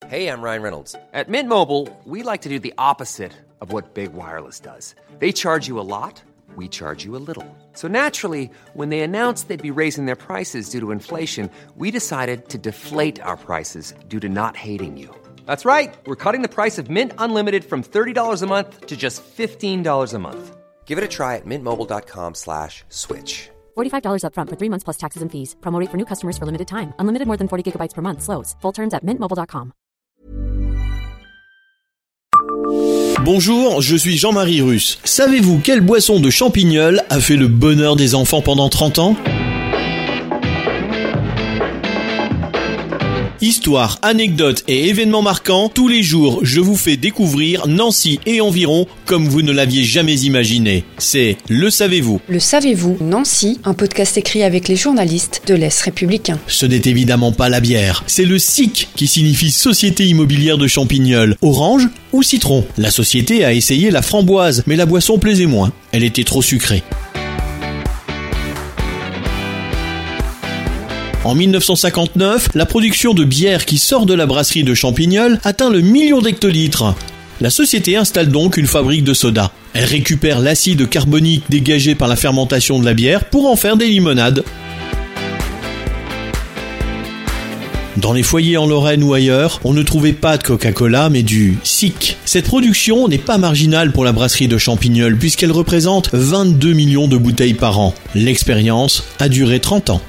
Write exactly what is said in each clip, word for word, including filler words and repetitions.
Hey, I'm Ryan Reynolds. At Mint Mobile, we like to do the opposite of what Big Wireless does. They charge you a lot, we charge you a little. So naturally, when they announced they'd be raising their prices due to inflation, we decided to deflate our prices due to not hating you. That's right. We're cutting the price of Mint Unlimited from thirty dollars a month to just fifteen dollars a month. Give it a try at mintmobile.com slash switch. forty-five dollars up front for three months plus taxes and fees. Promo rate for new customers for limited time. Unlimited more than forty gigabytes per month. Slows full terms at mint mobile dot com. Bonjour, je suis Jean-Marie Russe. Savez-vous quelle boisson de champignol a fait le bonheur des enfants pendant trente ans ? Histoire, anecdotes et événements marquants, tous les jours je vous fais découvrir Nancy et environ comme vous ne l'aviez jamais imaginé. C'est Le Savez-vous. Le Savez-vous, Nancy, un podcast écrit avec les journalistes de l'Est républicain. Ce n'est évidemment pas la bière, c'est le S I C qui signifie Société Immobilière de Champignol. Orange ou citron ? La société a essayé la framboise, mais la boisson plaisait moins. Elle était trop sucrée. En dix-neuf cent cinquante-neuf, la production de bière qui sort de la brasserie de Champignol atteint le million d'hectolitres. La société installe donc une fabrique de soda. Elle récupère l'acide carbonique dégagé par la fermentation de la bière pour en faire des limonades. Dans les foyers en Lorraine ou ailleurs, on ne trouvait pas de Coca-Cola mais du S I C. Cette production n'est pas marginale pour la brasserie de Champignol puisqu'elle représente vingt-deux millions de bouteilles par an. L'expérience a duré trente ans.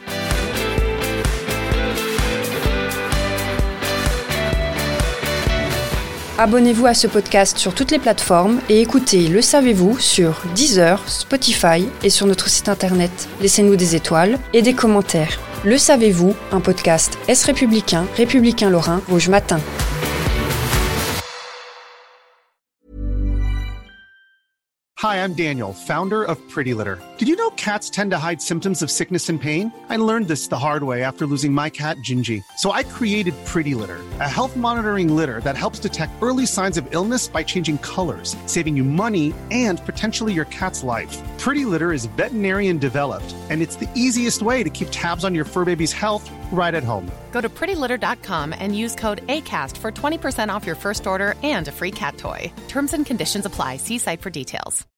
Abonnez-vous à ce podcast sur toutes les plateformes et écoutez Le Savez-vous sur Deezer, Spotify et sur notre site internet. Laissez-nous des étoiles et des commentaires. Le Savez-vous, un podcast Est républicain, républicain lorrain, Rouge Matin. Hi, I'm Daniel, founder of Pretty Litter. Did you know cats tend to hide symptoms of sickness and pain? I learned this the hard way after losing my cat, Gingy. So I created Pretty Litter, a health monitoring litter that helps detect early signs of illness by changing colors, saving you money and potentially your cat's life. Pretty Litter is veterinarian developed, and it's the easiest way to keep tabs on your fur baby's health right at home. Go to pretty litter dot com and use code ACAST for twenty percent off your first order and a free cat toy. Terms and conditions apply. See site for details.